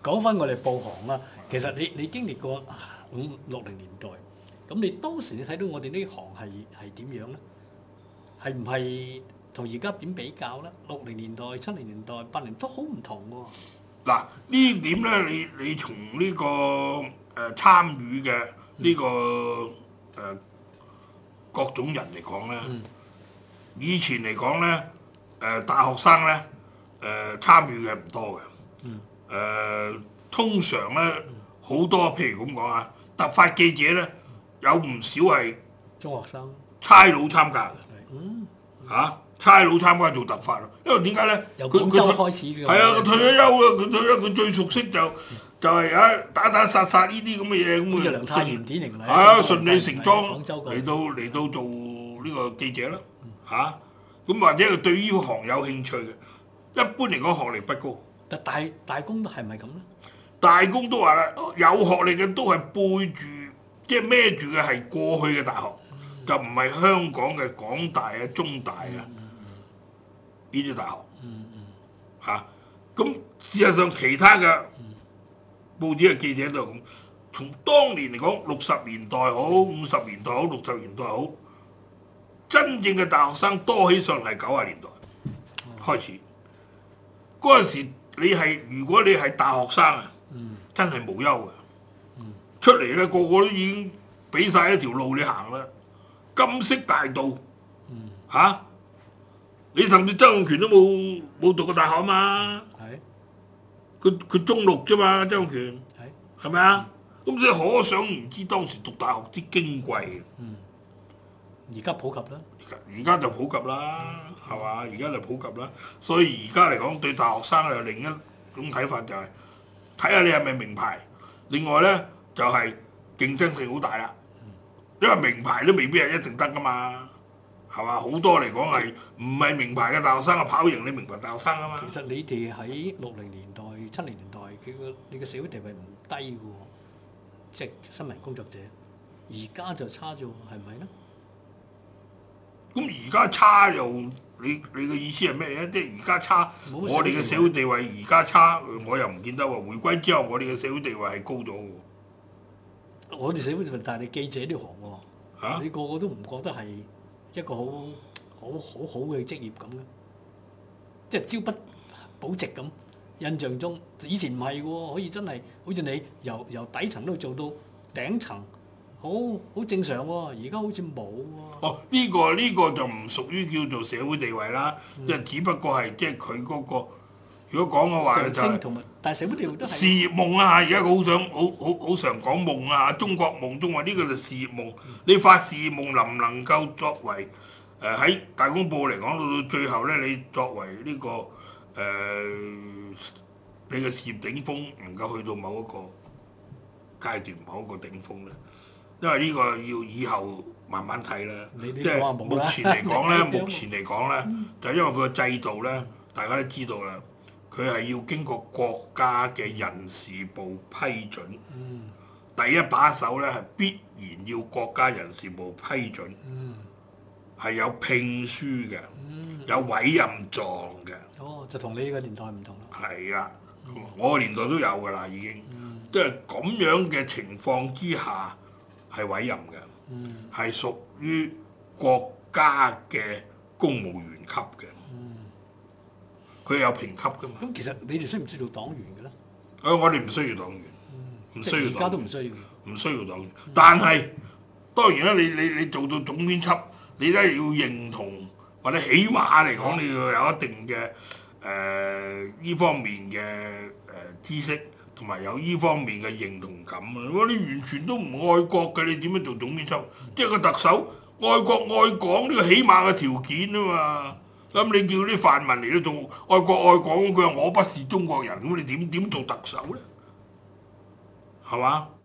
講翻我哋報行啦，其實你經歷過50、60年代，咁你當時你睇到我哋呢行係點樣咧？係唔係同而家點比較咧？60年代、70年代、80年都好唔同喎。 嗱呢點咧，你從呢個參與嘅呢個各種人嚟講咧，以前嚟講咧大學生咧參與嘅唔多嘅，通常咧好多譬如咁講啊，突發記者咧有唔少係中學生差佬參加嘅，差佬參加做突發咯，因為點解咧？ 由廣州開始嘅。 係啊，佢退咗休啦，佢退休佢最熟悉就係打殺呢啲咁嘅嘢咁好似梁太炎典型嚟。 係啊，順理成章廣州嚟到做呢個記者啦，咁或者佢對呢行有興趣嘅，一般嚟講學歷不高。 但大公係咪咁咧？ 大公都話啦，有學歷嘅都係背住，即係孭住嘅係過去嘅大學，就唔係香港嘅港大啊、中大啊呢啲大學。咁事實上其他嘅報紙嘅記者都係咁。從當年嚟講，60年代好、50年代好、60年代好，真正嘅大學生多起上嚟90年代開始。嗰陣時如果你係大學生啊，真係無憂嘅。出嚟咧，個個都已經俾晒一條路你行啦，金色大道，你甚至曾蔭權都冇讀過大學啊嘛，佢中六啫嘛，曾蔭權係咪啊？咁所以可想而知當時讀大學之矜貴。 而家普及啦。 而家就普及啦，係嘛？而家就普及啦，所以而家嚟講對大學生有另一種睇法，就係睇下你係咪名牌。另外咧就係競爭性好大啦，因為名牌都未必係一定得噶嘛，係嘛？好多嚟講係唔係名牌嘅大學生啊，跑贏你名牌大學生啊嘛。 其實你哋喺60年代、70年代，你嘅社會地位唔低嘅喎，即係新聞工作者。而家就差咗，係咪咧？ 咁而家差又你嘅意思係咩咧？即係而家差，我哋嘅社會地位而家差，我又唔見得喎。回歸之後，我哋嘅社會地位係高咗嘅。 我哋社會地位，但係你記者呢行喎，你個個都唔覺得係一個好嘅職業咁嘅，即係朝不保夕咁。印象中以前唔係喎，可以真係好似你由底層都做到頂層。好正常喎，而家好似冇喎。 呢個就唔屬於叫做社會地位啦，即係只不過係即係佢嗰個，如果講嘅話就係， 但係社會地位都係事業夢啊！而家好常講夢啊，中國夢中話呢個就事業夢。你發事業夢能唔能夠作為喺大公報嚟講到最後咧，你作為呢個你嘅事業頂峰能夠去到某一個階段、某一個頂峰咧？因為呢個要以後慢慢睇啦，即係目前嚟講咧，就因為佢個制度咧，大家都知道啦，佢係要經過國家嘅人事部批准，第一把手咧係必然要國家人事部批准，係有聘書嘅，有委任狀嘅。 就同你呢個年代唔同啦。 係啊，我個年代都有㗎啦，已經，即係咁樣嘅情況之下。係委任嘅，係屬於國家嘅公務員級嘅，佢有評級㗎嘛。 咁其實你哋需唔需要黨員嘅咧？ 我哋唔需要黨員，唔需要黨員。 而家都唔需要。 唔需要黨員，但係當然啦，你做到總編輯，你都係要認同，或者起碼嚟講，你要有一定嘅呢方面嘅知識。同埋有呢方面嘅認同感啊！如果你完全都唔愛國嘅，你點樣做總編輯？即係個特首愛國愛港呢個起碼嘅條件啊嘛！咁你叫啲泛民嚟到做愛國愛港，佢話我不是中國人，咁你點做特首咧？係嘛？